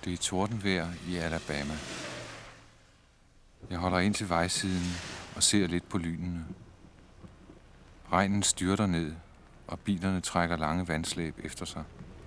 Det er tordenvejr i Alabama. Jeg holder ind til vejsiden og ser lidt på lynene. Regnen styrter ned, og bilerne trækker lange vandslæb efter sig.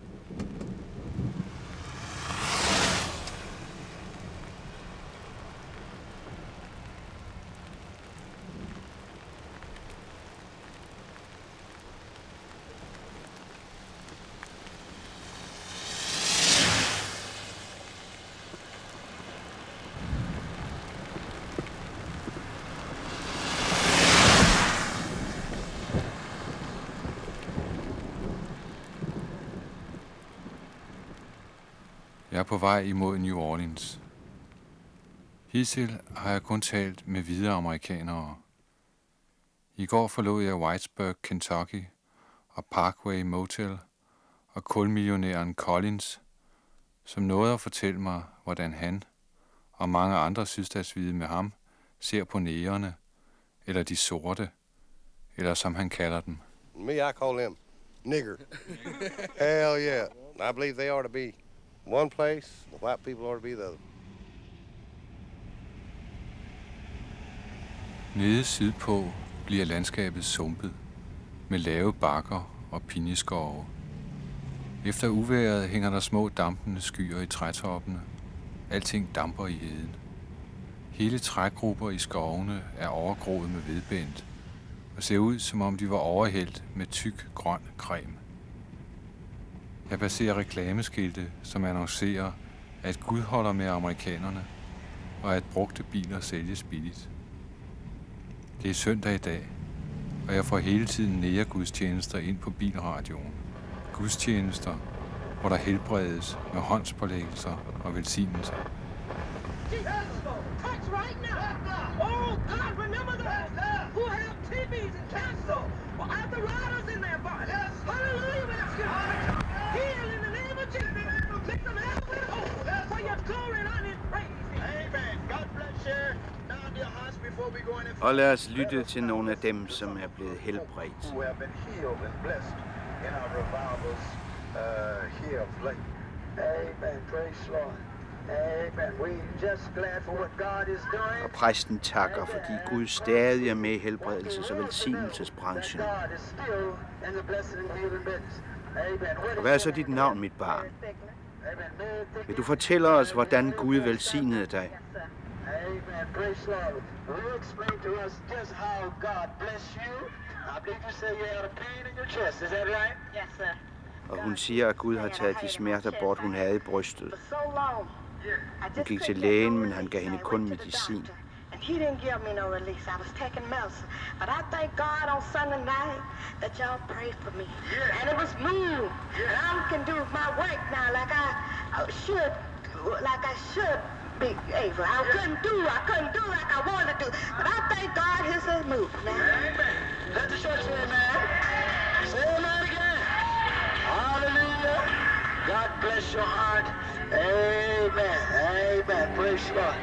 Jeg er på vej imod New Orleans. Hidtil har jeg kun talt med hvide amerikanere. I går forlod jeg Whitesburg, Kentucky og Parkway Motel og kulmillionæren Collins, som nåede at fortælle mig, hvordan han og mange andre sydstatshvide med ham ser på negerne, eller de sorte, eller som han kalder dem. Me, I call them nigger. Hell yeah. I believe they ought to be one place, the white people ought to be the other. Nede sydpå bliver landskabet sumpet med lave bakker og pinjeskove. Efter uvejret hænger der små dampende skyer i trætoppene. Alting damper i heden. Hele trægrupper i skovene er overgroet med vedbændt og ser ud, som om de var overhældt med tyk grøn creme. Jeg passerer reklameskilte, som annoncerer, at Gud holder med amerikanerne, og at brugte biler sælges billigt. Det er søndag i dag, og jeg får hele tiden næregudstjenester ind på bilradioen. Gudstjenester, hvor der helbredes med håndspålæggelser og velsignelser. Og lad os lytte til nogle af dem, som er blevet helbredt. Og præsten takker, fordi Gud stadig er med i helbredelses- og velsignelsesbranchen. Og hvad er så dit navn, mit barn? Vil du fortælle os, hvordan Gud velsignede dig? Amen. Praise Lord. Will you explain to us just how God bless you? I believe you say you had a pain in your chest. Is that right? Yes, sir. Og hun siger, at Gud har taget de smerter bort, hun havde i brystet. Hun gik til lægen, men han gav hende kun medicin. And he didn't give me no release. I was taking medicine. But I thank God on Sunday night that y'all prayed for me. And it was moved. And I can do my work now like I should be able. I couldn't do like I wanted to do. But I thank God his is moved, man. Amen. Let the church say amen. Say amen again. Hallelujah. God bless your heart. Amen. Amen. Praise God.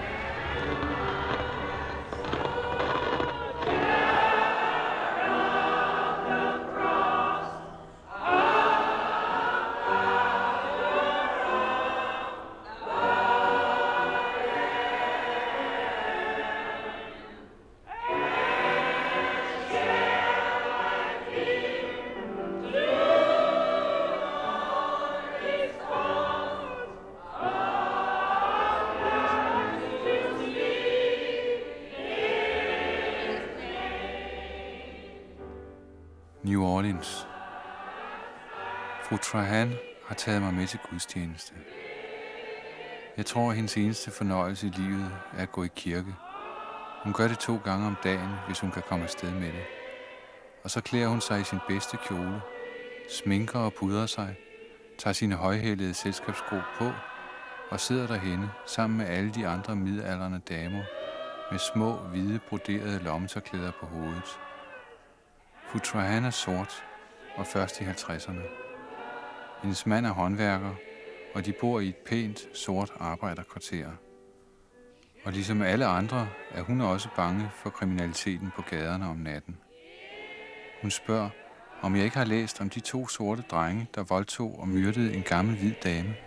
New Orleans. Fru Trahan har taget mig med til gudstjeneste. Jeg tror, at hendes eneste fornøjelse i livet er at gå i kirke. Hun gør det 2 gange om dagen, hvis hun kan komme afsted med det. Og så klæder hun sig i sin bedste kjole, sminker og pudrer sig, tager sine højhælede selskabssko på og sidder derhenne sammen med alle de andre midaldrende damer med små, hvide, broderede lommetørklæder på hovedet. Fru Trahan er sort og først i 50'erne. Hendes mand er håndværker, og de bor i et pænt, sort arbejderkvarter. Og ligesom alle andre er hun også bange for kriminaliteten på gaderne om natten. Hun spørger, om jeg ikke har læst om de 2 sorte drenge, der voldtog og myrdede en gammel hvid dame.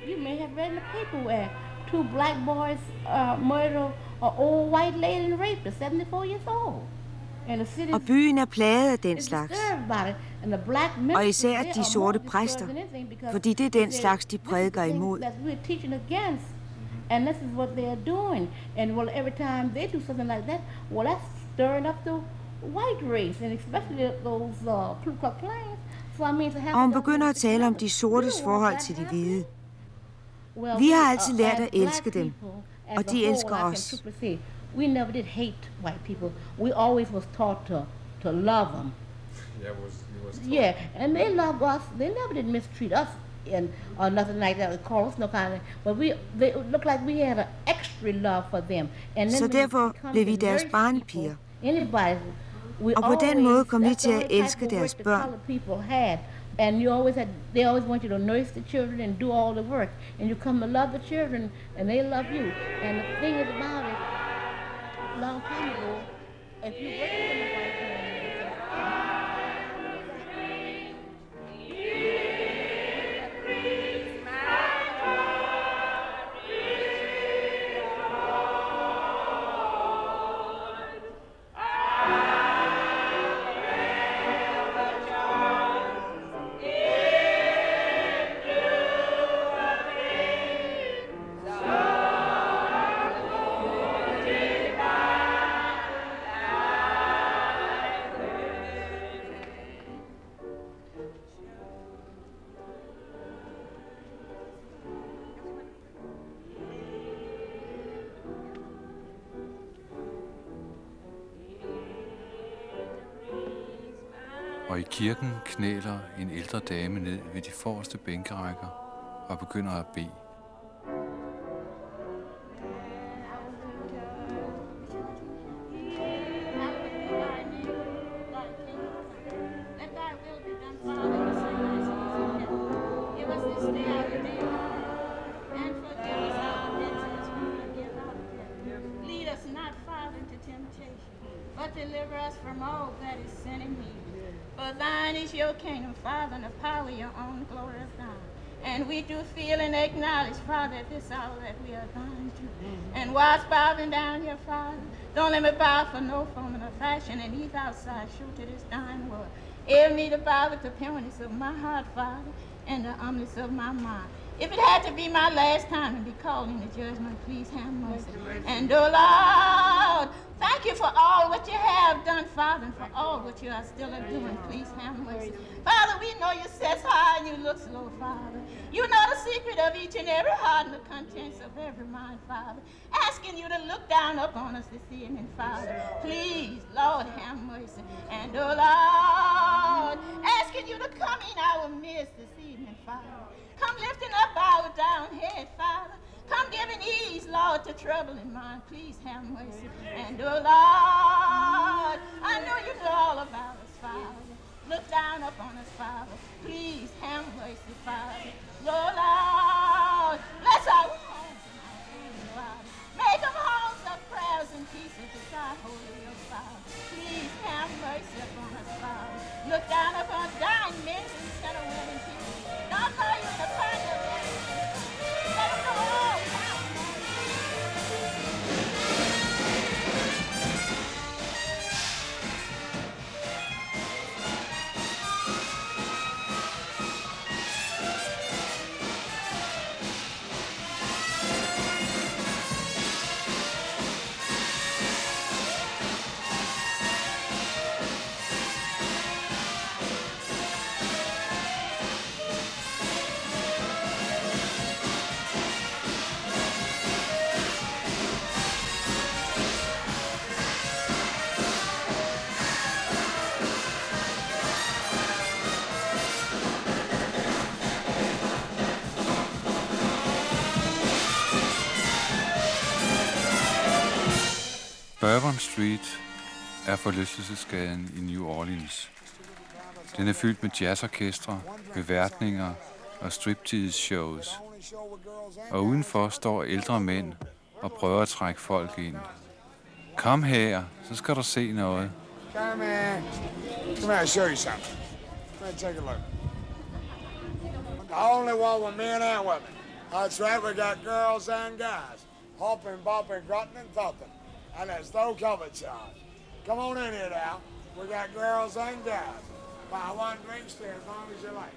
You may have read in the paper where 2 black boys murdered an old white lady and raped her, 74 years old. Og byen er plaget af den slags. Og især de sorte præster, fordi det er den slags, de prædiker imod. And this is what they're doing. And well, every time they do something like that, well, that's stirring up the white race, and especially those Ku Klux Klans. So I mean, to have. Og hun begynder at tale om de sortes forhold til de hvide. Vi har altid lært at elske dem, og de elsker os. We never did hate white people. We always was taught to love them. Yeah, and they loved us. They never did mistreat us or nothing like that. They call us no kind of. But they looked like we had an extra love for them. And then så derfor blev vi deres barnepiger. Og på den måde kom vi til at elske deres børn. And they always want you to nurse the children and do all the work. And you come to love the children, and they love you. And the thing is about it, a long time ago, if you work in the white home, Og i kirken knæler en ældre dame ned ved de forreste bænkerækker og begynder at bede. But deliver us from all that is sin and evil. For thine is your kingdom, Father, and the power, your own glory of God. And we do feel and acknowledge, Father, at this hour that we are thine too. And whilst bowing down here, Father, don't let me bow for no form of fashion, and he's outside, shoot to this thine word. Help me to bow with the pureness of my heart, Father, and the humbleness of my mind. If it had to be my last time to be called into judgment, please have mercy. And oh Lord, thank you for all what you have done, Father, and for all what you are still doing. Please have mercy. Father, we know you sit high and you look low, Father. You know the secret of each and every heart and the contents of every mind, Father. Asking you to look down upon us this evening, Father. Please, Lord, have mercy. And oh Lord, asking you to come in our midst this evening, Father. Come lifting up our down head, Father. Come giving ease, Lord, to troubling mind. Please have mercy. And oh Lord, I know you know all about us, Father. Look down upon us, Father. Please have mercy, Father. Oh Lord, bless our homes and our families, Father. Make them homes of prayers and peace beside holy, oh Father. Please have mercy upon us, Father. Look down upon dying men and sinner women, people. Don't know you in the fire of their let them know all have Bourbon Street er forlystelsesgaden i New Orleans. Den er fyldt med jazzorkestre, beværtninger og striptease-shows. Og udenfor står ældre mænd og prøver at trække folk ind. Kom her, så skal du se noget. Come here. Come here, I'll show you something. Come here, take a look. The only one with men and women. That's right, we got girls and guys. Hopping, bopping, grunting and thumping. And there's no cover charge. Come on in here now. We got girls and guys. Buy one drink, stay as long as you like.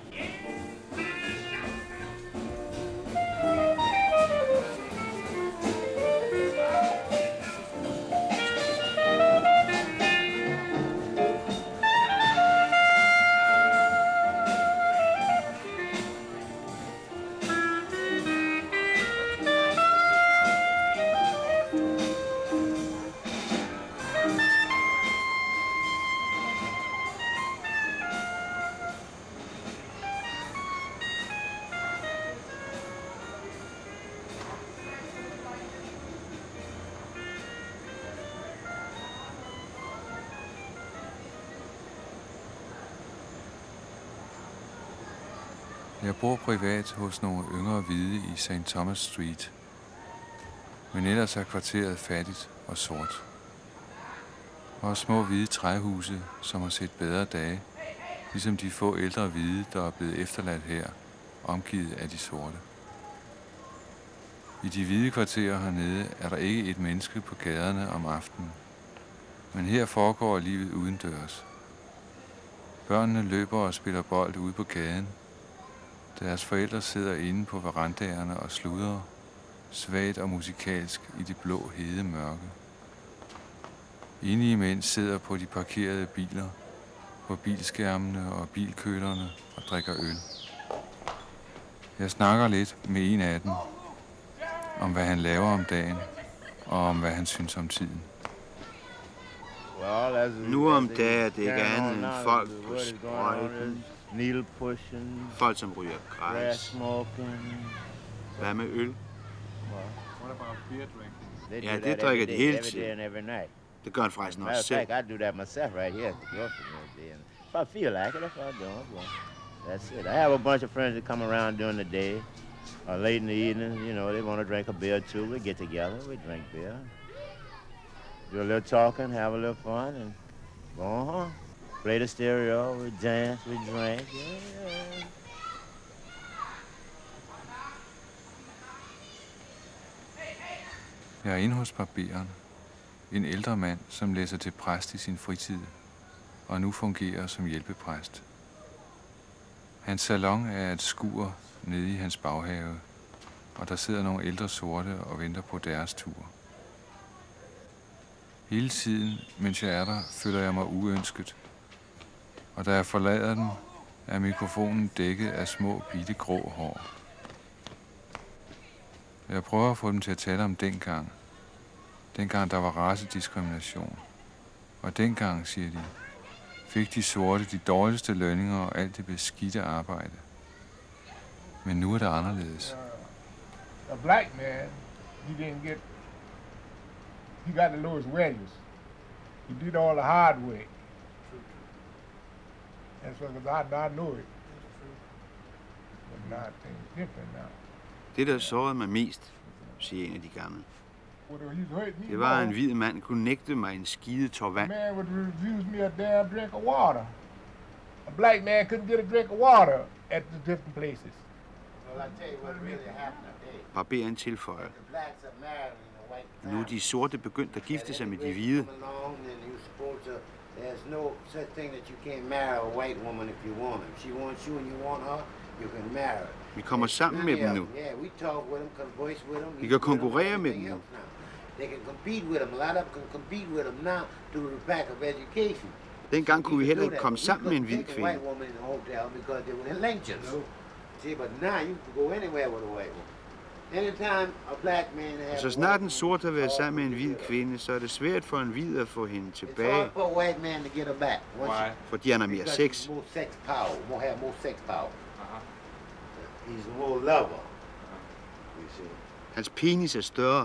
Jeg bor privat hos nogle yngre hvide i St. Thomas Street. Men ellers er kvarteret fattigt og sort. Og små hvide træhuse, som har set bedre dage, ligesom de få ældre hvide, der er blevet efterladt her, omgivet af de sorte. I de hvide kvarterer hernede er der ikke et menneske på gaderne om aftenen. Men her foregår livet udendørs. Børnene løber og spiller bold ude på gaden. Deres forældre sidder inde på verandaerne og sludrer, svagt og musikalsk i det blå hede mørke. Enige mænd sidder på de parkerede biler, på bilskærmene og bilkølerne og drikker øl. Jeg snakker lidt med en af dem, om hvad han laver om dagen, og om hvad han synes om tiden. Nu om dagen er det ikke andet end folk på sprøjten, folk som ryger græs. Hvad med øl? Ja, det drikker de hele tiden. Det gør han faktisk også selv. If I feel like it, if I don't, that's it. I have a bunch of friends that come around during the day or late in the evening. You know, they want to drink a beer too. We get together, we drink beer, do a little talking, have a little fun, and go home. Play the stereo, we dance, we drink. Yeah. Jeg er inde hos barberen. En ældre mand, som læser til præst i sin fritid, og nu fungerer som hjælpepræst. Hans salon er et skur nede i hans baghave, og der sidder nogle ældre sorte og venter på deres tur. Hele tiden, mens jeg er der, føler jeg mig uønsket, og da jeg forlader den, er mikrofonen dækket af små, bitte grå hår. Jeg prøver at få dem til at tale om dengang. Dengang der var racediskrimination. Og dengang, siger de, fik de sorte de dårligste lønninger og alt det beskidte arbejde. Men nu er det anderledes. A black man, he got the lowest wages. He did all the hard work. And so, I know it. But now things different now. Det, der sårede mig mest, siger en af de gamle, det var, at en hvid mand kunne nægte mig en skide tår vand. Man would refuse me a damn drink of water. A black man couldn't get a drink of water at the different places. Barberen tilføjer. Nu er de sorte begyndt at gifte sig med de hvide. There's no such thing that you can't marry a white woman if you want her. If she wants you and you want her, you can marry her. Vi kommer sammen med dem nu. Vi kan konkurrere med dem nu. Dengang kunne vi heller ikke komme sammen med en hvid kvinde. Så snart en sort har været sammen med en hvid kvinde, så er det svært for en hvid at få hende tilbage. Fordi han har mere sex. Hans penis er større.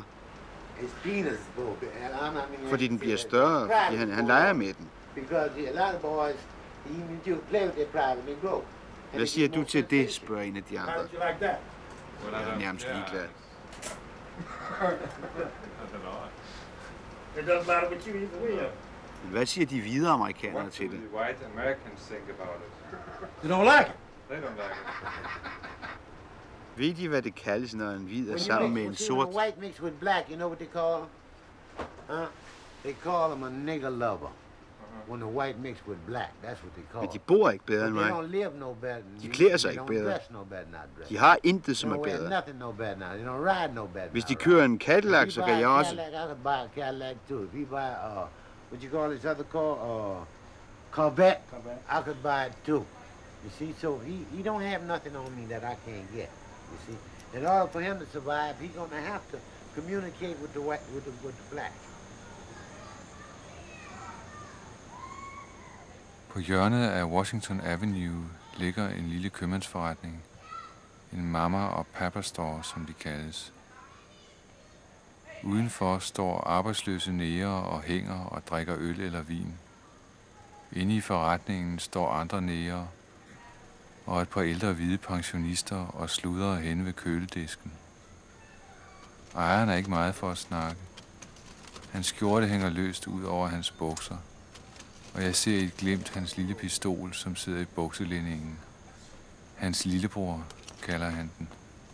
Fordi den bliver større, fordi han leger med den. Hvad siger du til det, spørger en af de andre. Jeg er nærmest ligeglad. Men hvad siger de hvide amerikanere til det? They don't like it. Ved de, hvad det kaldes, når en hvid er sammen med en sort? When white mix with black, you know what they call them? Huh? They call them a nigger lover. When the white mix with black, that's what they call them. Men de bor ikke bedre end mig. They don't live no better than De klæder sig ikke bedre. De har intet, som er bedre. Nothing no better now. They don't ride no better. Hvis de kører en Cadillac, så kan jeg også. I could buy a Cadillac too. If you buy what you call this other car, Corvette, I could buy it too. You see, so he don't have nothing on me that I can't get. You see, in order for him to survive, he's gonna have to communicate with the white, with the black. På hjørnet af Washington Avenue ligger en lille købmandsforretning. En mama og papa store, som de kaldes. Udenfor står arbejdsløse negre og hænger og drikker øl eller vin. Inde i forretningen står andre negre og et par ældre hvide pensionister og sludrer henne ved køledisken. Ejeren er ikke meget for at snakke. Hans skjorte hænger løst ud over hans bukser, og jeg ser i et glimt hans lille pistol, som sidder i bukselændingen. Hans lillebror, kalder han den.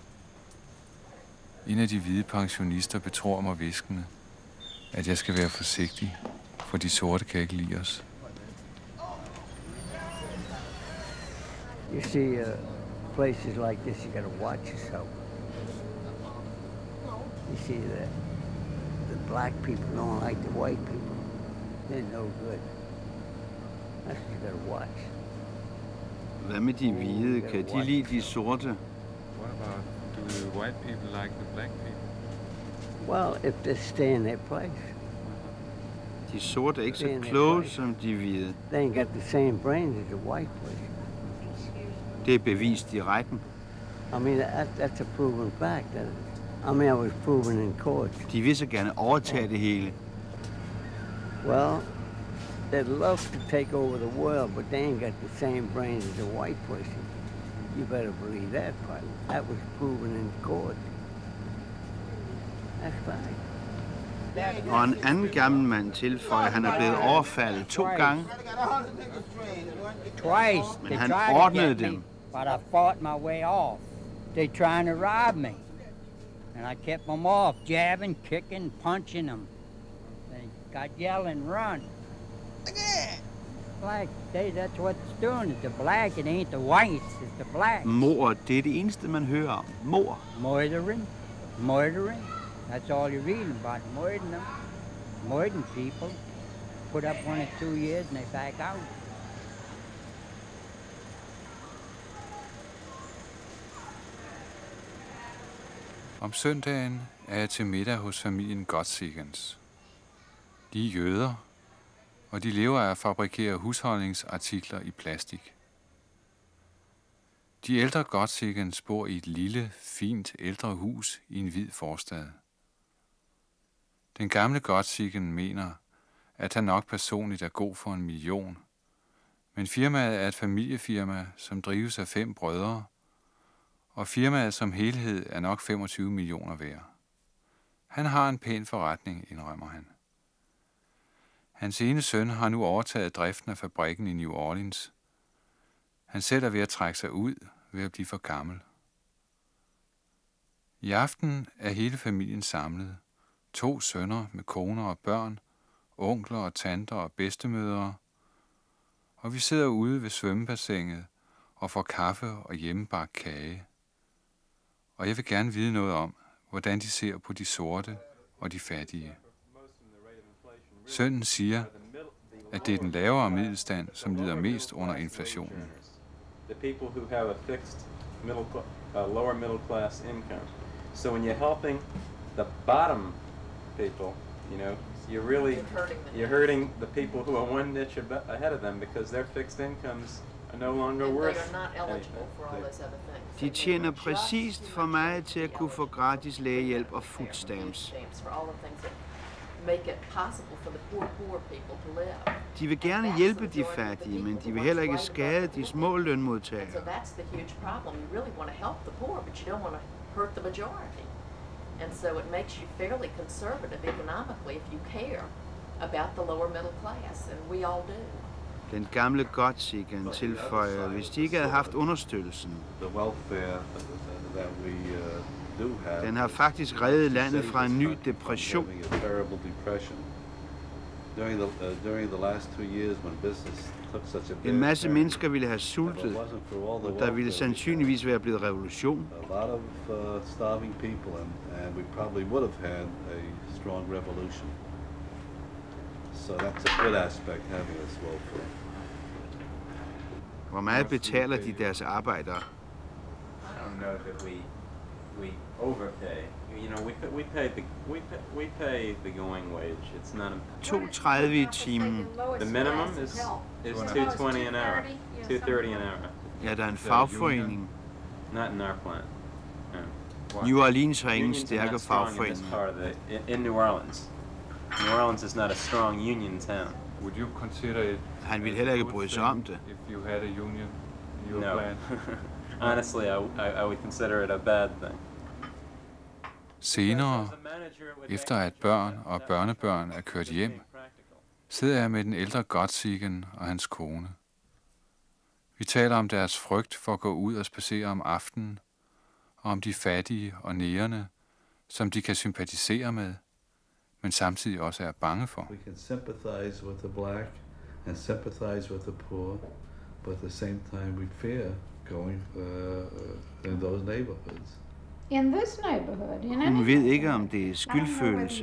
En af de hvide pensionister betror mig hviskende, at jeg skal være forsigtig, for de sorte kan ikke lide os. You see, places like this, you gotta watch yourself. You see that the black people don't like the white people. They're no good. That's what you gotta watch. Hvad med de hvide? Kan de lide de sorte? What about, do the white people like the black people? Well, if they stay in their place. De sorte er ikke så kloge som de hvide. They ain't got the same brains as the white place. Det er bevist i retten. I mean, that's a proven fact. I was proven in court. De vil så gerne overtage det hele. Well, they'd love to take over the world, but they ain't got the same brains as a white person. You better believe that part. That was proven in court. That's fine. Og en anden gammel mand tilføjer, at han er blevet overfaldet 2 gange. Twice. Men han ordnede dem. But I fought my way off. They trying to rob me. And I kept them off, jabbing, kicking, punching them. They got yelling, run. Black, that's what it's doing. It's the black, it ain't the whites, it's the black. Mord, det er det eneste, man hører om. Mord. Murdering. That's all you're reading about, murdering them. Murdering people. Put up 1 or 2 years and they back out. Om søndagen er jeg til middag hos familien Gottsegens. De er jøder, og de lever af at fabrikere husholdningsartikler i plastik. De ældre Gottsegens bor i et lille, fint ældre hus i en hvid forstad. Den gamle Gottsegen mener, at han nok personligt er god for 1 million, men firmaet er et familiefirma, som drives af 5 brødre, og firmaet som helhed er nok 25 millioner værd. Han har en pæn forretning, indrømmer han. Hans ene søn har nu overtaget driften af fabrikken i New Orleans. Han selv er ved at trække sig ud, ved at blive for gammel. I aften er hele familien samlet. 2 sønner med koner og børn, onkler og tanter og bedstemødre. Og vi sidder ude ved svømmebassinet og får kaffe og hjemmebagt kage. Og jeg vil gerne vide noget om, hvordan de ser på de sorte og de fattige. Sønnen siger, at det er den lavere middelstand, som lider mest under inflationen. The people who have a fixed lower middle class income. So when you're helping the bottom people, you know, you're hurting the people who are one niche ahead of them because their fixed incomes are no longer worth anything. De tjener præcist for meget til at kunne få gratis lægehjælp og food stamps. De vil gerne hjælpe de fattige, men de vil heller ikke skade de små lønmodtagere. And so it makes you fairly conservative economically if you care about the lower middle class, and we all do. Den gamle Gottsegen tilføjer, hvis de ikke havde haft understøttelsen. The welfare, Den har faktisk reddet landet fra en ny depression. En masse mennesker ville have sultet, og der ville sandsynligvis være blevet revolution. Hvor meget betaler de deres arbejdere? I don't know that we overpay. You know, we pay the going wage. It's not a 2,30 i timen. The minimum is $2.20 an hour. $2.30 an hour. Ja, der er en fagforening. Not in our plant. No. New Orleans har ingen stærke fagforening. In New Orleans. New Orleans is not a strong union town. Would you consider it? Han ville heller ikke bryde sig om det. If you had a union in your No. plant? Honestly, I would consider it a bad thing. Senere, efter at børn og børnebørn er kørt hjem, sidder jeg med den ældre Gottsiegen og hans kone. Vi taler om deres frygt for at gå ud og spacere om aftenen, og om de fattige og nærende, som de kan sympatisere med, men samtidig også er bange for. We can sympathize with the black and sympathize with the poor, but at the same time we fear going in those neighborhoods. In this neighborhood, Hun ved ikke, om det er skyldfølelse.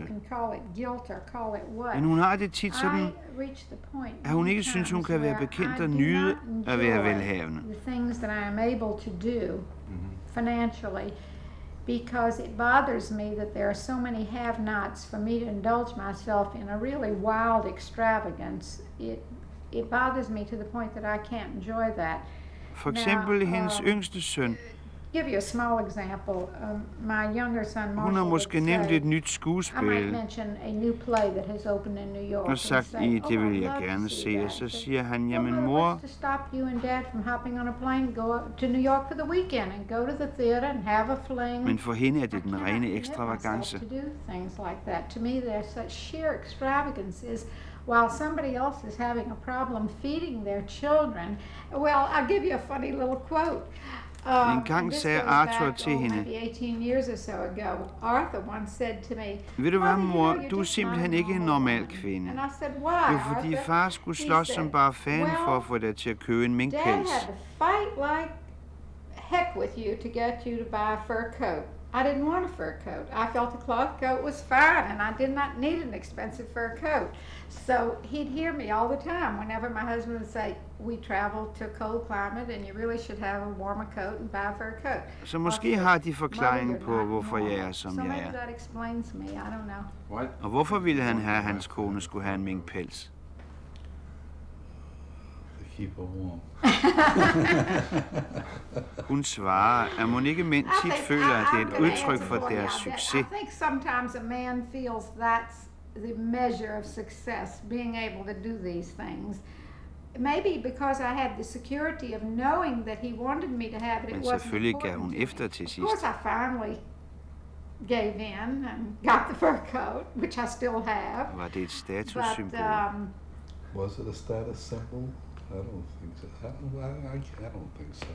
Men hun har det tit sådan, at hun ikke synes, hun kan være bekendt og nyde at være velhavende. The things that I am able to do financially, because it bothers me that there are so many have-nots for me to indulge myself in a really wild extravagance. It bothers me to the point that I can't enjoy that. For eksempel hendes yngste søn. Give you a small example. My younger son Marshall. Hun har måske nævnt et nyt skuespil. I might mention a new play that has opened in New York. Og sagt, det vil jeg gerne se. Og så siger han, jamen mor. To stop you and Dad from hopping on a plane, go to New York for the weekend and go to the theater and have a fling. Men for hende er det den rene ekstravagance. To do things like that. To me, there's such sheer extravagances. While somebody else is having a problem feeding their children. Well, I'll give you a funny little quote. En gang sagde Arthur til hende, ved du hvad, mor, du er simpelthen ikke en normal kvinde. Jo, fordi far skulle slås som bare fan for at få dig til at købe en minkpels. Heck with you to get you to buy a fur coat. I didn't want a fur coat. I felt a cloth coat was fine, and I did not need an expensive fur coat. So he'd hear me all the time whenever my husband would say, we travel to a cold climate, and you really should have a warmer coat and buy a fur coat. Så måske har de forklaringen på, hvorfor jeg er, som jeg er. So maybe that explains me. I don't know. What? Og hvorfor ville han have, at hans kone skulle have en minkpels? Keep her warm. Hun svarer, at hun ikke mænd tit føler, at det er et udtryk for deres succes. I think sometimes a man feels that's the measure of success, being able to do these things. Maybe because I had the security of knowing that he wanted me to have it. Men selvfølgelig gav hun efter til sidst. Of course, I finally gave in and got the fur coat, which I still have. Var det et statussymbol? Was it a status symbol? I don't think so. I don't think so.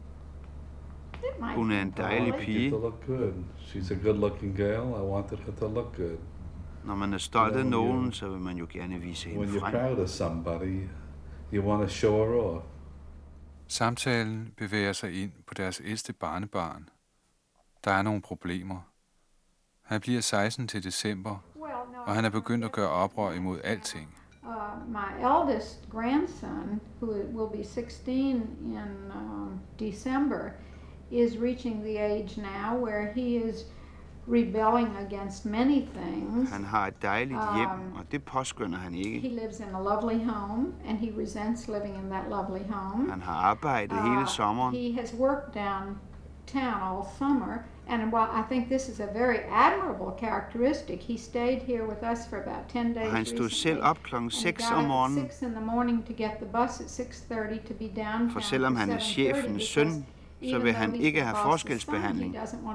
Hun er en dejlig pige. To look good. She's a good-looking girl. I wanted her to look good. Når man er stolt af nogen, så vil man jo gerne vise hende frem. When you're proud of somebody, you want to show her off. Samtalen bevæger sig ind på deres ældste barnebarn. Der er nogle problemer. Han bliver 16 til december, og han er begyndt at gøre oprør imod alting. My eldest grandson, who will be 16 in December, is reaching the age now where he is rebelling against many things. Han har et dejligt hjem, og det påskynder han ikke. He lives in a lovely home, and he resents living in that lovely home. Han har arbejdet hele sommeren. He has worked downtown all summer, and while I think this is a very admirable characteristic, he stayed here with us for about 10 days. Og han stod selv op klokken 6 om morgenen. 6 in the morning to get the bus at 6:30 to be downtown. For selvom han er chefens søn, så vil han ikke have forskelsbehandling.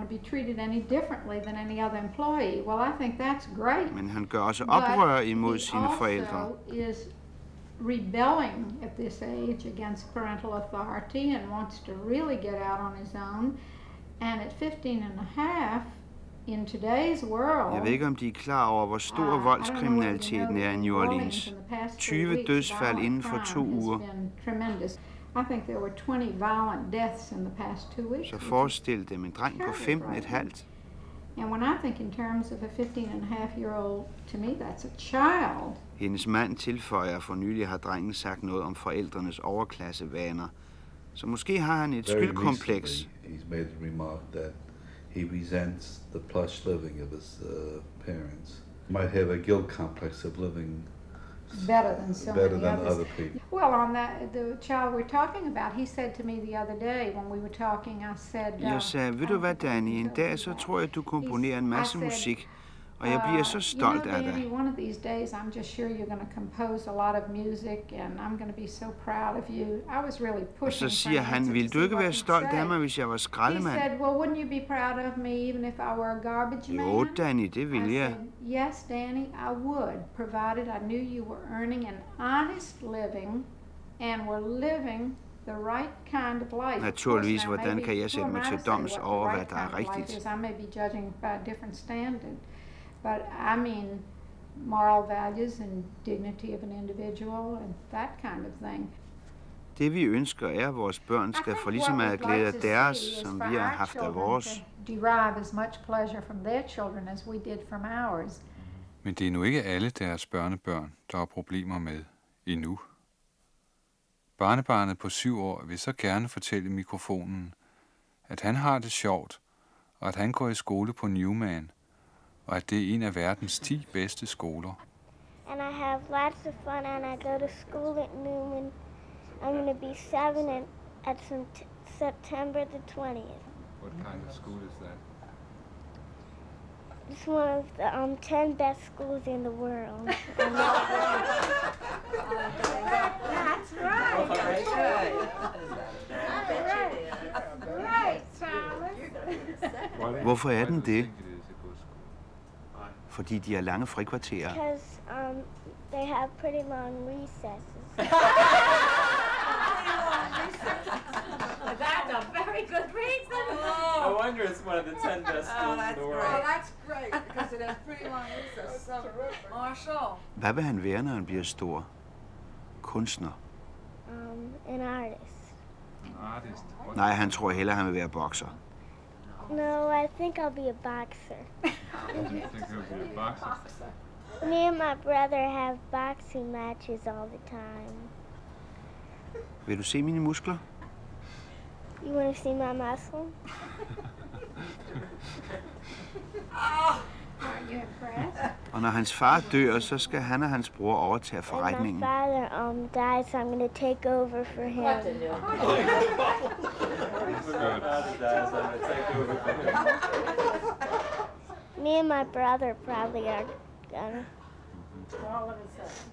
Men han gør også oprør imod sine forældre. Rebelling at this age against parental authority and wants to really get out on his own. And at 15 and a half, in today's world, jeg ved ikke, om de er klar over, hvor stor voldskriminaliteten er i New Orleans. 20 dødsfald inden for 2 uger. I think there were 20 violent deaths in the past 2 weeks. Så forestil dem en dreng på 15,5. And when I think in terms of a 15-and-a-half-year-old, to me that's a child. Hendes mand tilføjer, for nylig har drengen sagt noget om forældrenes overklassevaner. Så måske har han et skyldkompleks. He's made the remark that he resents the plush living of his parents. He might have a guilt complex of living better than so many other people. Well, on the child we're talking about, he said to me the other day when we were talking, I said... Jeg sagde, ved du hvad, Danny, en dag så tror jeg, du komponerer en masse musik, og jeg bliver så stolt af dig. One of these days, I'm just sure you're going to compose a lot of music, and I'm going to be so proud of you. I was really pushing. Og så siger han, vil du ikke være stolt af mig, hvis jeg var skraldemand? He said, well, wouldn't you be proud of me even if I were a garbage man? Jo, Danny, det vil jeg. I said, yes, Danny, I would, provided I knew you were earning an honest living and were living the right kind of life. Naturligvis, hvordan kan jeg sætte mig til doms over, hvad der er rigtigt? I may be judging by a different standard. But I mean moral values and dignity of an individual and that kind of thing. Det vi ønsker er, at vores børn skal få lige så meget glæde af deres, som vi har haft af vores. Derive as much pleasure from their children as we did from ours. Men det er nu ikke alle deres børnebørn, der har problemer med endnu. Barnebarnet på 7 år vil så gerne fortælle i mikrofonen, at han har det sjovt, og at han går i skole på Newman, og at det er en af verdens 10 bedste skoler. And I have lots of fun, and I go to school at Newman. I'm going to be 7 at September the 20th. What kind of school is that? It's one of the 10 best schools in the world. That's right. Right, Charles. Hvorfor er den det? Fordi de har lange frikvarterer. Because they have pretty long recesses. That's a very good reason. No wonder it's one of the 10 best schools in the world. Oh, that's great because it has pretty long recesses. So, Marshall. Hvad vil han være, når han bliver stor? Kunstner? An artist. Artist? Nej, han tror hellere, han vil være bokser. No, I think I'll be a boxer. You think you'll be a boxer? Me and my brother have boxing matches all the time. Vil du se mine muskler? You want to see my muscle? Og når hans far dør, så skal han og hans bror overtage forretningen. My father died, so I'm going to take over for him. Me and my brother probably are gonna. All of a sudden.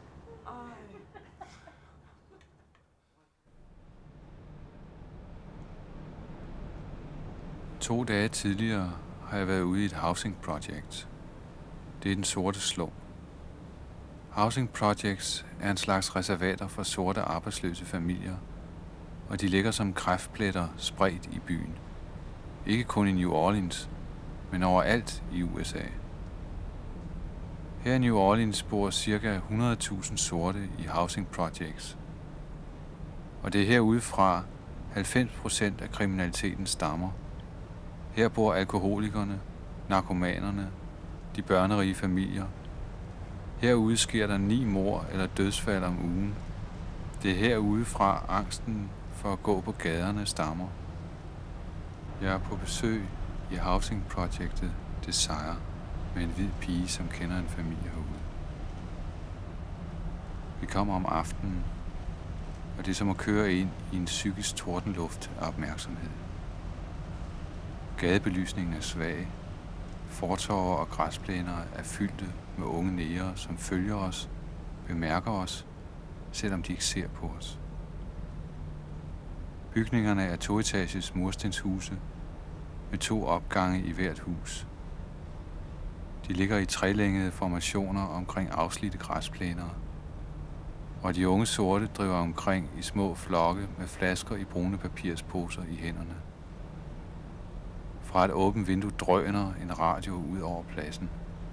2 dage tidligere har jeg været ude i et housing project. Det er den sorte slum. Housing projects er en slags reservater for sorte arbejdsløse familier, og de ligger som kræftpletter spredt i byen. Ikke kun i New Orleans, men overalt i USA. Her i New Orleans bor ca. 100.000 sorte i housing projects. Og det er herudefra 90% af kriminaliteten stammer. Her bor alkoholikerne, narkomanerne, de børnerige familier. Herude sker der 9 mord eller dødsfald om ugen. Det er herudefra angsten for at gå på gaderne stammer. Jeg er på besøg i housing projectet Desire med en hvid pige, som kender en familie herude. Vi kommer om aftenen, og det er som at køre ind i en psykisk tordenluft af opmærksomhed. Gadebelysningen er svag. Fortover og græsplæner er fyldte med unge negere, som følger os, bemærker os, selvom de ikke ser på os. Bygningerne er 2-etages murstenshuse med 2 opgange i hvert hus. De ligger i trelængede formationer omkring afslidte græsplæner, og de unge sorte driver omkring i små flokke med flasker i brune papirsposer i hænderne. Fra et åbent vindue drøner en radio ud over pladsen.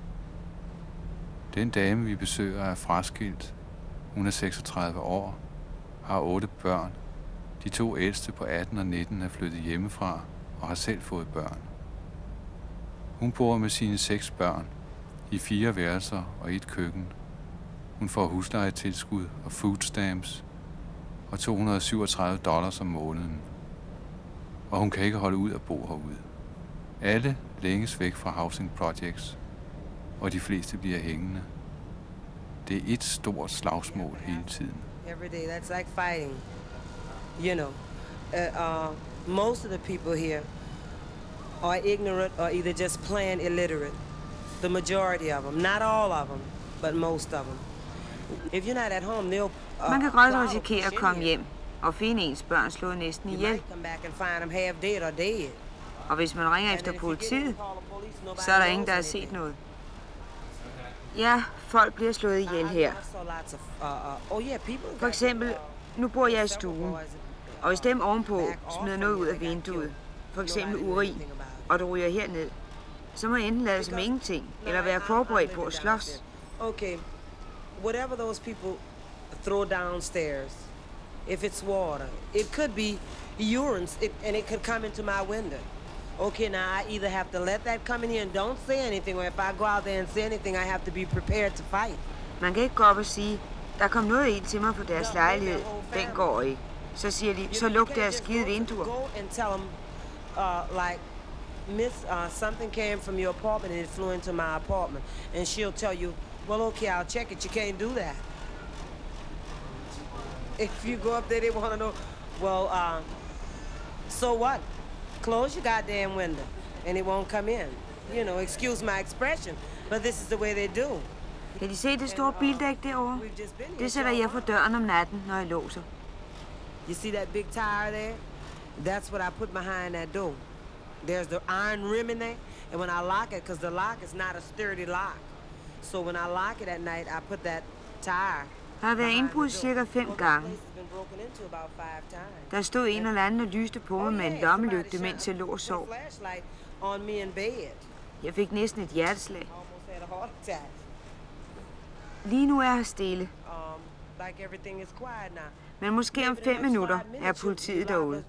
Den dame, vi besøger, er fraskilt. Hun er 36 år, har 8 børn. De 2 ældste på 18 og 19 er flyttet hjemmefra og har selv fået børn. Hun bor med sine 6 børn i 4 værelser og 1 køkken. Hun får huslejetilskud og food stamps og $237 om måneden. Og hun kan ikke holde ud at bo herude. Alle længes væk fra housing projects, og de fleste bliver hængende. Det er et stort slagsmål hele tiden. Every day, that's like fighting. You know, most of the people here are ignorant or either just plain illiterate. The majority of them, not all of them, but most of them. If you're not at home, they'll. Man kan godt risikere at komme hjem og finde ens børn slået næsten ihjel. Og hvis man ringer efter politiet, så er der ingen, der har set noget. Ja, folk bliver slået ihjel her. For eksempel, nu bor jeg i stuen, og hvis dem ovenpå smider noget ud af vinduet, for eksempel urin, og det ryger herned, så må jeg enten lade som ingenting, eller være forberedt på at slås. Okay, whatever those people throw downstairs, if it's water, it could be urine, and it could come into my window. Okay, now I either have to let that come in here and don't say anything, or if I go out there and say anything, I have to be prepared to fight. Man kan ikke gå op og sige, der kom noget ind til mig på deres lejlighed, den går ikke. Så siger de, så luk deres skide vinduer. Go and tell them, like, Miss, something came from your apartment and it flew into my apartment, and she'll tell you, well, okay, I'll check it. You can't do that. If you go up there, they want to know, well, so what? Close your goddamn window, and it won't come in. You know, excuse my expression, but this is the way they do. Kan de se det store bildæk derovre? Det sætter jeg for døren om natten, når jeg låser. You see that big tire there? That's what I put behind that door. There's the iron rim in there, and when I lock it, because the lock is not a sturdy lock, so when I lock it at night, I put that tire. Der har været indbrud cirka 5 gange. Der stod en eller anden og lyste på mig med en lommelygte, mens jeg lå og sov. Jeg fik næsten et hjerteslag. Lige nu er jeg stille. Men måske om 5 minutter er politiet derude.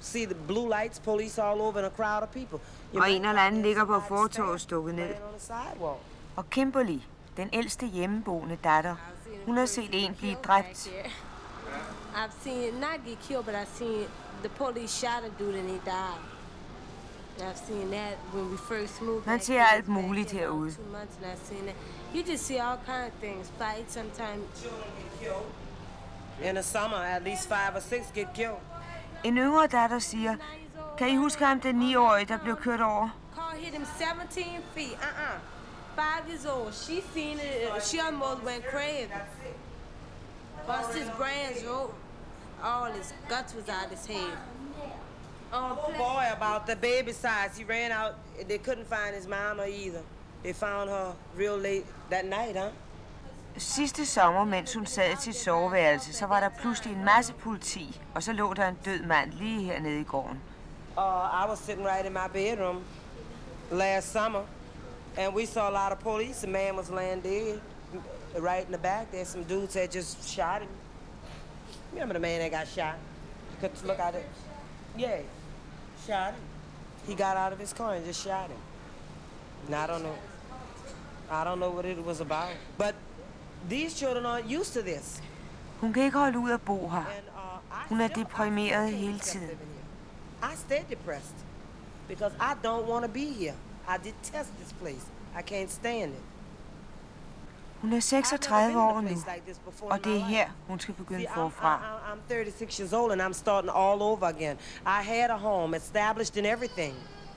Og en eller anden ligger på fortovet stukket ned. Og Kimberly, den ældste hjemmeboende datter, hun har set en blive dræbt. I've seen not get killed, but I've seen the police shot a dude and he died. I've seen that when we first moved. Man ser alt muligt herude. 2 months and I've seen that. You just see all kind of things. Fight sometimes. In the summer, at least 5 or 6 get killed. En yngre datter siger, kan I huske ham, den 9-årige, der blev kørt over? Car hit him 17 feet. 5 years old. She seen it. She almost went crazy. Bust his brains out. All his guts was out his head. Oh boy, about the baby size. He ran out. They couldn't find his mama either. They found her real late that night, huh? Sidste sommer, mens hun sad i sit soveværelse, så var der pludselig en masse politi, og så lå der en død mand lige hernede i gården. I was sitting right in my bedroom last summer, and we saw a lot of police. The man was laying dead right in the back there. Some dudes had just shot him. Remember the man that got shot? You could look at it. Yeah, shot him. He got out of his car and just shot him. And I don't know what it was about. But these children aren't used to this. Hun kan ikke holde ud at bo her. Hun er deprimeret hele tiden. I stay depressed because I don't want to be here. I detest this place. I can't stand it. Hun er 36 år nu, og det er her, hun skal begynde forfra. I'm 36 years old and I'm starting all over again. I had a home established and everything.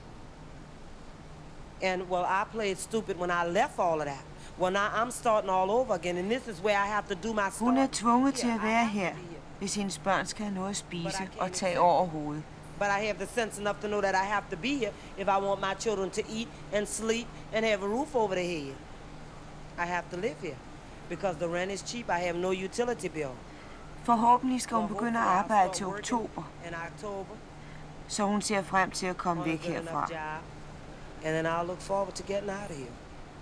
And well, I played stupid when I left all of that. Well, now I'm starting all over again, and this is where I have to do my stuff. Hun er tvunget til at være her, hvis hendes børn skal have noget at spise og tage over hovedet. But I have the sense enough to know that I have to be here if I want my children to eat and sleep and have a roof over their head. I have to live here because the rent is cheap. I have no utility bill. Forhåbentlig skal hun begynde at arbejde til oktober. så hun ser frem til at komme væk herfra. And then I'll look forward to getting out of here.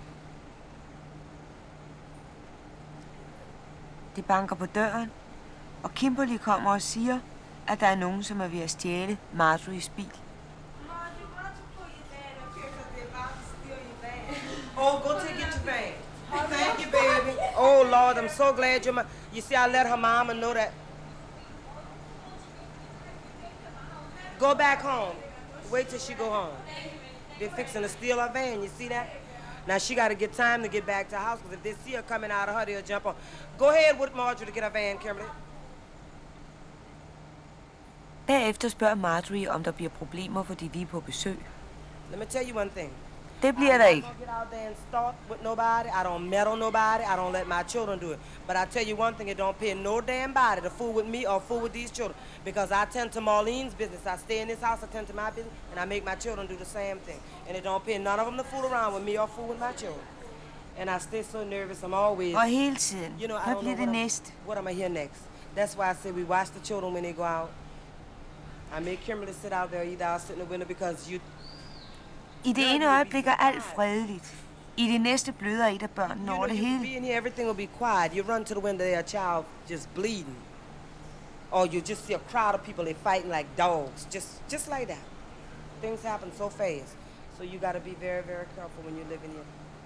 Det banker på døren, og Kimberly kommer og siger, at der er nogen, som er ved at stjæle Marjories bil. Oh, go take it to bed. Thank you, baby. Oh, Lord, I'm so glad you're You see, I let her mama know that. Go back home. Wait till she go home. They're fixing to steal her van, you see that? Now she got to get time to get back to the house, because if they see her coming out of her, they'll jump on. Go ahead with Marjorie to get her van, Kimberly. Bagefter spørger Marjorie, om der bliver problemer, fordi vi er på besøg. Let me tell you one thing. Det bliver der ikke. I don't get out there and start with nobody. I don't meddle nobody. I don't let my children do it. But I tell you one thing, it don't pay no damn body to fool with me or fool with these children. Because I tend to Marlene's business. I stay in this house, I tend to my business, and I make my children do the same thing. And it don't pay none of them to fool around with me or fool with my children. And I stay so nervous, I'm always... Og hele tiden. You know, I hvad don't bliver know det næste? what am I here next? That's why I say we watch the children when they go out. I make Kimberly sit out there, either I'll sit in the window because you... I det ene øjeblik er alt fredeligt. I det næste bløder et af børnene over det hele. Being here, everything will be quiet. You run to the window, there a child just bleeding. Or you just see a crowd of people, they're fighting like dogs. Just like that. Things happen so fast. So you got to be very, very careful when you're living here.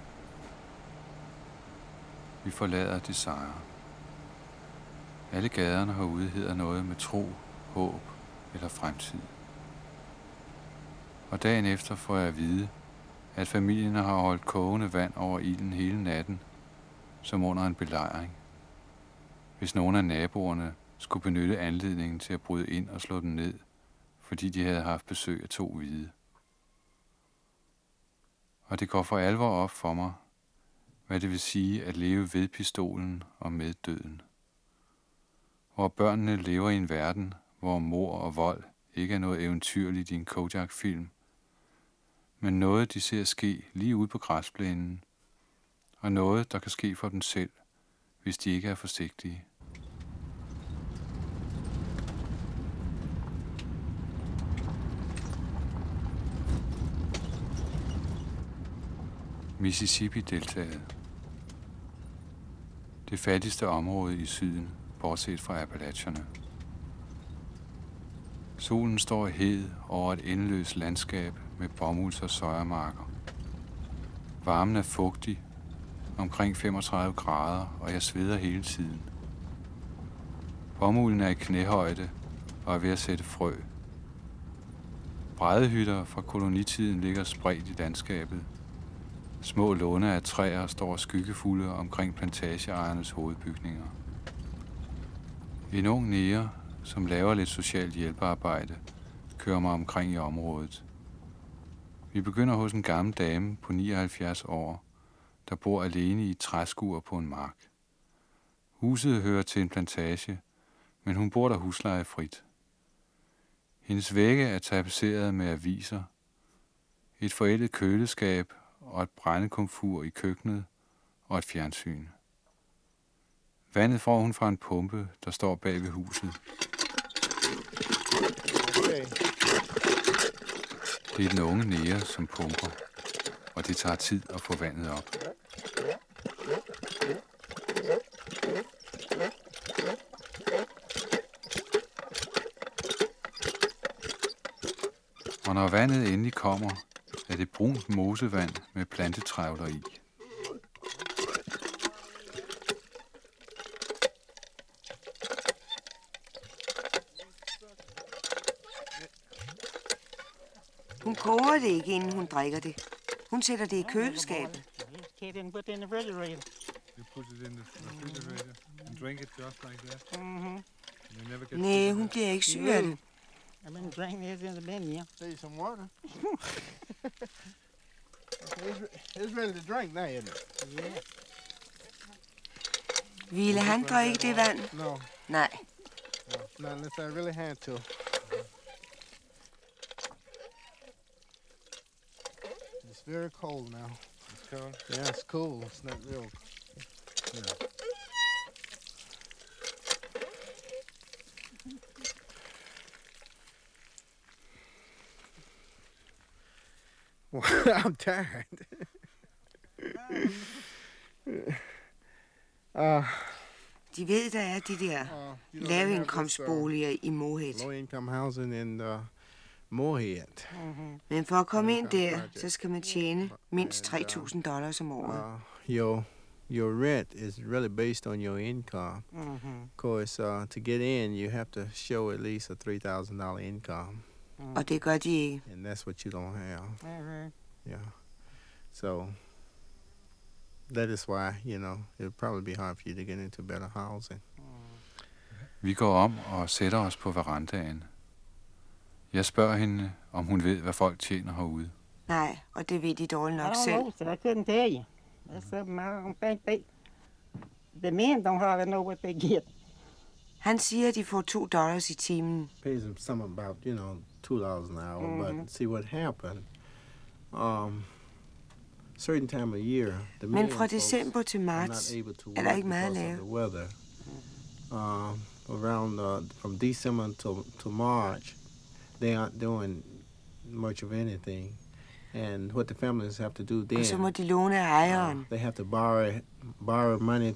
Vi forlader Desire. Alle gaderne herude hedder noget med tro, håb eller fremtid. Og dagen efter får jeg at vide, at familien har holdt kogende vand over ilden hele natten, som under en belejring. Hvis nogen af naboerne skulle benytte anledningen til at bryde ind og slå dem ned, fordi de havde haft besøg af 2 hvide. Og det går for alvor op for mig, hvad det vil sige at leve ved pistolen og med døden. Hvor børnene lever i en verden, hvor mord og vold ikke er noget eventyrligt i en Kojak-film, men noget, de ser ske lige ude på græsplænen, og noget, der kan ske for dem selv, hvis de ikke er forsigtige. Mississippi-deltaet. Det fattigste område i syden, bortset fra Appalacherne. Solen står hed over et endeløst landskab med bomulds- og sojamarker. Varmen er fugtig, omkring 35 grader, og jeg sveder hele tiden. Bomulden er i knæhøjde og er ved at sætte frø. Bræddehytter fra kolonitiden ligger spredt i landskabet. Små låne af træer står skyggefulde omkring plantageejernes hovedbygninger. En ung nære, som laver lidt socialt hjælpearbejde, kører mig omkring i området. Vi begynder hos en gammel dame på 79 år, der bor alene i et træskur på en mark. Huset hører til en plantage, men hun bor der huslejefrit. Hendes vægge er tapetseret med aviser, et forældet køleskab og et brændekomfur i køkkenet og et fjernsyn. Vandet får hun fra en pumpe, der står bag ved huset. Okay. Det er den unge nære, som pumper, og det tager tid at få vandet op. Og når vandet endelig kommer, er det brunt mosevand med plantetrævler i. Hun koger det ikke, inden hun drikker det. Hun sætter det i køleskabet. You put it in the refrigerator and drink it just like that. Nej, hun bliver ikke syg af det. I've been drinking this in the bin, yeah. Take some water. It's ready to drink now, isn't it? Yeah. Ville han drikke det vand? No. Nej. No, not unless I really had to. It's very cold now. It's cold? Yeah, it's cool. It's not real. Yeah. I'm tired. De ved, der er de der lavindkomstboliger i Moorhead. Low income housing in Moorhead. Men for at komme ind der, så skal man tjene mindst $3,000 om året. Your rent is really based on your income. Of course, to get in, you have to show at least a $3,000 income. Og det gør de ikke. And that's what you don't have. Yeah. So that is why, it'll probably be hard for you to get into better housing. Vi går om og sætter os på verandaen. Jeg spørger hende, om hun ved, hvad folk tjener herude. Nej, og det ved de dårligt nok selv. I don't know, I couldn't tell you. That's something I don't think the men don't hardly know what they get. Han siger, at de får $2 i timen. Pays them some about, $2 an hour, but see what happened. Certain time of year, the men fra december til marts er der ikke meget at lave. Around from December to March, they aren't doing much of anything. And what the families have to do then, og så må de låne af ejeren. They have to borrow money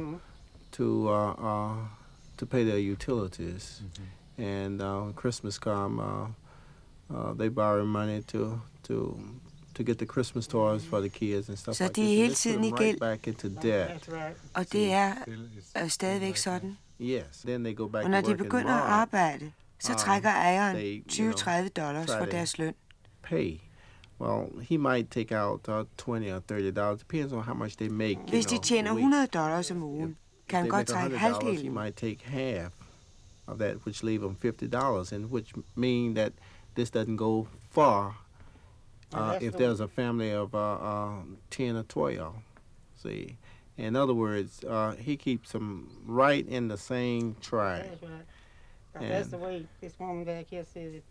to pay their utilities. And when Christmas come, they borrow money to get the Christmas toys for the kids and stuff så like de er hele tiden i gæld. Back into debt. Og det er stadigvæk sådan. Yes. Then they go back og når to de begynder at arbejde, så trækker ejeren $20-30 fra deres løn. Pay. Well, he might take out $20 or $30. Depends on how much they make. Hvis de tjener $100 om ugen, kan han godt trække halvdelen. He might take half of that, which leave them $50, and which mean that this doesn't go far if there's a family of 10 or 12. See, in other words, he keeps them right in the same track. That's right. That's the way this woman back here says it.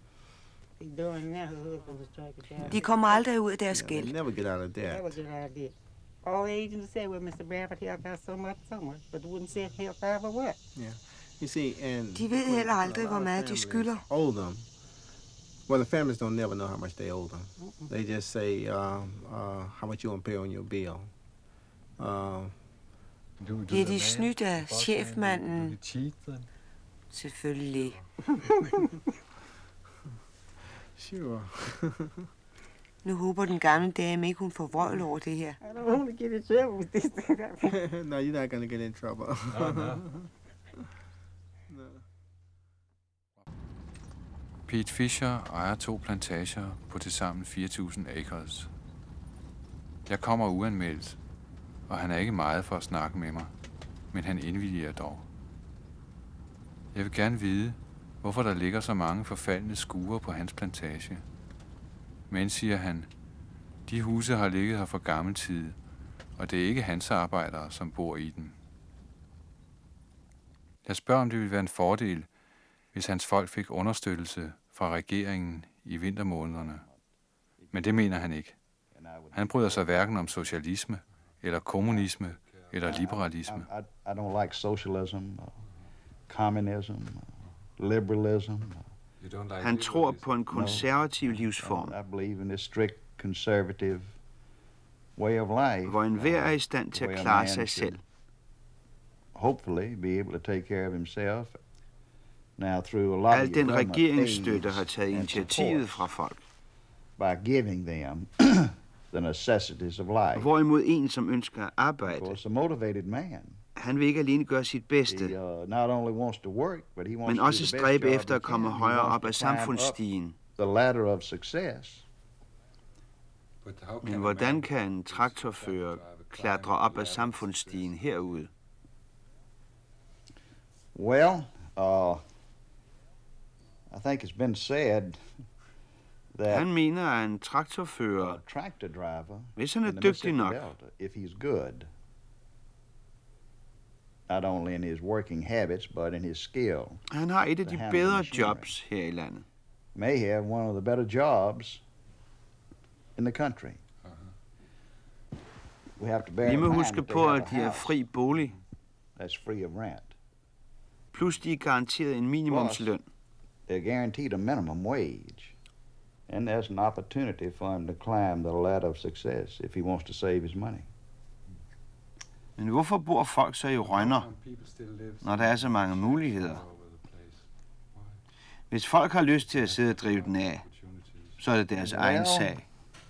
De kommer aldrig ud af deres gæld. Never get out of debt. Never get out of debt. All the agents say, well, Mr. Bradford helped out so much, but wouldn't say help out for what? Yeah. You see, and de ved heller aldrig, hvor meget de skylder. Owe them. Well, the families don't never know how much they owe them. They just say how much you want to pay on your bill. Bliver de snydt af chefmanden? Selvfølgelig. Sure. Nu håber den gamle dame ikke, hun får vrøvl over det her. I don't want to get in trouble with this. No, you're not going to get in trouble. No. Pete Fisher ejer 2 plantager på tilsammen 4.000 acres. Jeg kommer uanmeldt, og han er ikke meget for at snakke med mig, men han indvilliger dog. Jeg vil gerne vide, hvorfor der ligger så mange forfaldne skure på hans plantage. Men, siger han, de huse har ligget her fra gammel tid, og det er ikke hans arbejdere, som bor i dem. Jeg spørger, om det ville være en fordel, hvis hans folk fik understøttelse fra regeringen i vintermånederne. Men det mener han ikke. Han bryder sig hverken om socialisme, eller kommunisme, eller liberalisme. I don't like socialism, communism, liberalism. Han tror på en konservativ livsform, I believe in a strict conservative way of life. hvor enhver er i stand til at klare sig selv. Hopefully be able to take care of himself. Now through a lot Al den regeringsstøtte har taget initiativet fra folk. By giving them the necessities of life. Hvorimod en, som ønsker at arbejde, a motivated man. Han vil ikke alene gøre sit bedste, men også stræbe efter at komme højere op ad samfundsstigen. Men hvordan kan en traktorfører klatre op ad samfundsstigen herude? Well, I think it's been said that han mener, at en traktorfører, hvis han er dygtig nok, if he's good, not only in his working habits, but in his skill. Han har et af de bedre jobs her i landet. May have one of the better jobs in the country. We have to bear Vi må huske på, at de er fri bolig. That's free of rent. Plus de er garanteret en minimumsløn. They're guaranteed a minimum wage. And there's an opportunity for him to climb the ladder of success if he wants to save his money. Men hvorfor bor folk så i rønner, når der er så mange muligheder? Hvis folk har lyst til at sidde og drive den af, så er det deres egen sag.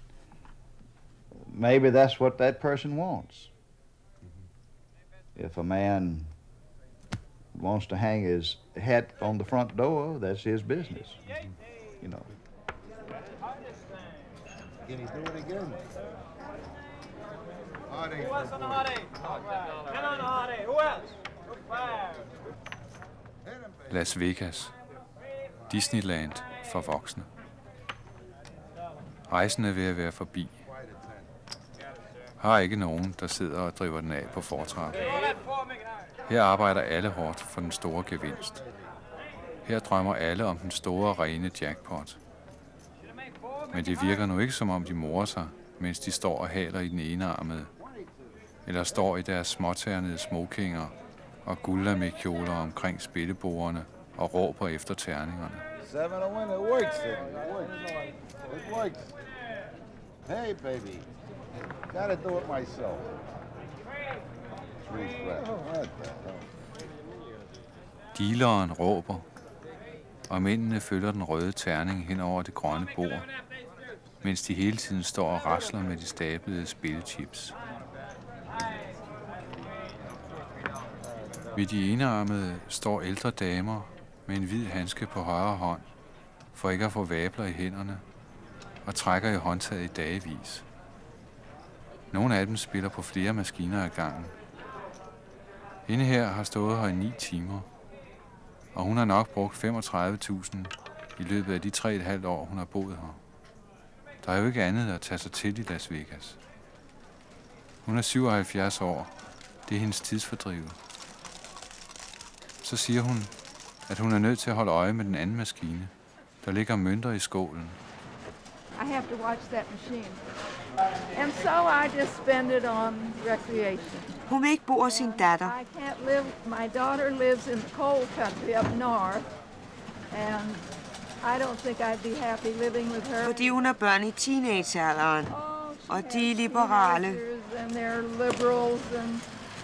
Maybe that's what that person wants. If a man wants to hang his hat on the front door, that's his business. You know. Can he do it again? Who else on the hot eight? Men on the hot eight. Who else? Las Vegas. Disneyland for voksne. Rejsen er ved at være forbi. Har ikke nogen, der sidder og driver den af på fortrappen. Her arbejder alle hårdt for den store gevinst. Her drømmer alle om den store, rene jackpot. Men det virker nu ikke som om de morer sig, mens de står og haler i den enearmede, eller står i deres småternede smokinger og guldlamekjoler omkring spillebordene og råber efter terningerne. 7 to win, it works. It works. Hey, baby. Gotta do it myself. 3 flat. What the hell? Dealeren råber, og mændene følger den røde terning hen over det grønne bord, mens de hele tiden står og rasler med de stablede spillechips. Ved de enearmede står ældre damer med en hvid handske på højre hånd, for ikke at få vabler i hænderne, og trækker i håndtaget i dagevis. Nogle af dem spiller på flere maskiner ad gangen. Hende her har stået her i 9 timer, og hun har nok brugt 35.000 i løbet af de 3,5 år, hun har boet her. Der er jo ikke andet at tage sig til i Las Vegas. Hun er 77 år. Det er hendes tidsfordriv. Så siger hun, at hun er nødt til at holde øje med den anden maskine. Der ligger mønter i skålen. I have to watch that machine. And so I just spend it on recreation. Hun vil ikke bo hos sin datter. I can't live. My daughter lives in the coal country up north, and I don't think I'd be happy living with her. Fordi hun har børn i teenagealderen, og de er liberale. And they're liberals, and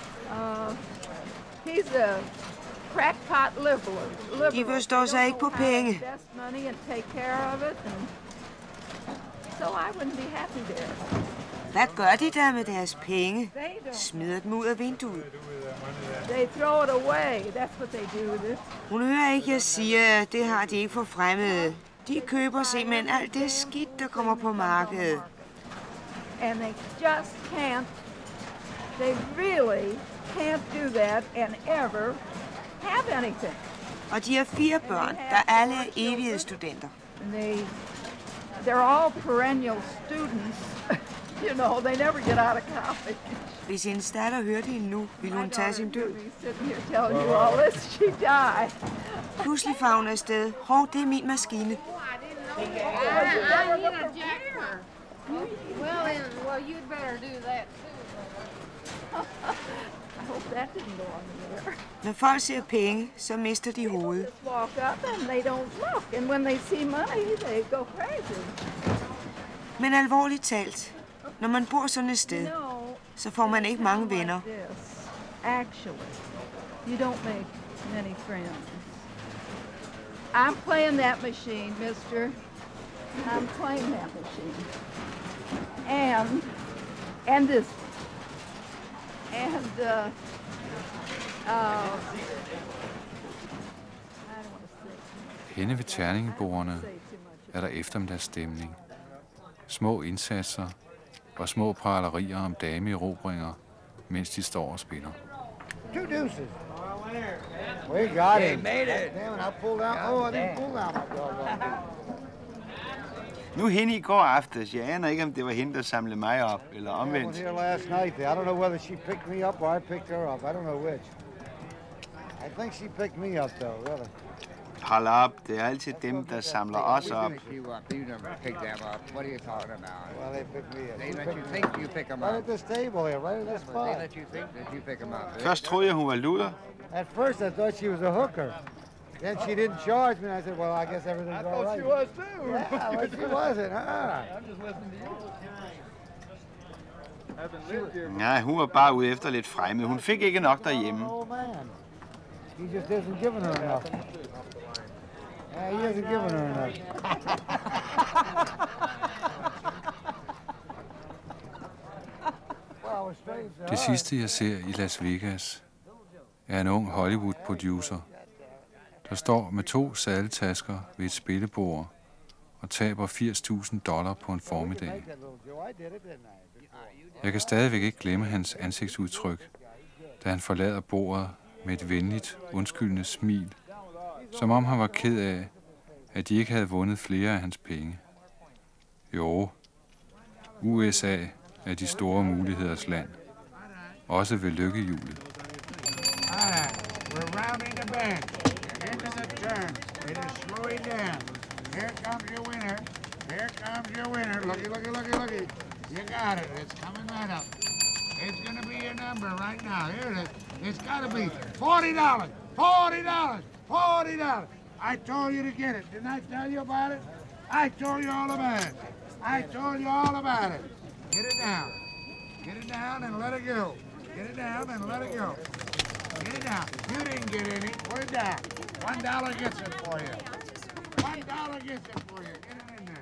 he's a crackpot liberal. De forstår sig ikke på penge. Invest money and take care of it, and so I wouldn't be happy there. Hvad gør de der med deres penge? Smider dem ud af vinduet. They throw it away. That's what they do with it. Hun hører ikke, jeg siger, at det har de ikke for fremmede. De køber simpelthen alt det skidt, der kommer på markedet. And they just can't. They really can't do that and ever have anything. Og de har 4 børn, der alle er evighedsstudenter. They're all perennial students. You know, they never get out of college. Hvis hendes datter hørte hende nu, ville hun tage sin død. Pludselig får hun afsted. Hov, det er min maskine. Well, you'd better do that too. I hope that didn't go on the air. Når folk ser penge, så mister de hovedet. Walk up and they don't look, and when they see money, they go crazy. Men alvorligt talt, når man bor sådan et sted, så får man ikke mange venner. Actually, you don't make many friends. I'm playing that machine, mister. I'm playing that machine. And this. And, Henne ved terningebordene er der eftermiddagsstemning. Små indsatser og små pralerier om dameerobringer, mens de står og spiller. 2 deuces. We got it. Made it. Damn, I pulled out. Oh, I didn't pull out my doggone. Nu hende i går aftes. Jeg aner ikke, om det var hende, der samlede mig op, eller omvendt. I was here last night. I don't know whether she picked me up or I picked her up. I don't know which. I think she picked me up, though, really. Hold op. Det er altid dem, der samler os op. You never pick them up. What are you talking about? Well, they picked me up. They let you think you pick them up. Right at this table here, right at this spot. They let you think that you pick them up. Først troede jeg, hun var luder. At first, I thought she was a hooker. Then she didn't charge me, and I said, well, I guess everything's all right. I thought she was too. Yeah, well, she wasn't, huh? I'm just listening to you. Nej, hun var bare ude efter lidt fremme. Hun fik ikke nok derhjemme. Oh, man. He just isn't giving her enough. Yeah, he isn't giving her enough. Det sidste, jeg ser i Las Vegas, er en ung Hollywood-producer, der står med 2 sadeltasker ved et spillebord og taber $80,000 på en formiddag. Jeg kan stadigvæk ikke glemme hans ansigtsudtryk, da han forlader bordet med et venligt, undskyldende smil, som om han var ked af, at de ikke havde vundet flere af hans penge. Jo, USA er de store muligheders land, også ved lykkehjulet. We're rounding the bend. Into the turn. It is slowing down. Here comes your winner. Here comes your winner. Looky, looky, looky, looky. You got it. It's coming right up. It's going to be your number right now. Here it is. It's got to be $40. $40. $40. I told you to get it. Didn't I tell you about it? I told you all about it. I told you all about it. Get it down. Get it down and let it go. Get it down and let it go. Get it down. You didn't get any. Put it down. $1 gets it for you. $1 gets it for you. Get it in there.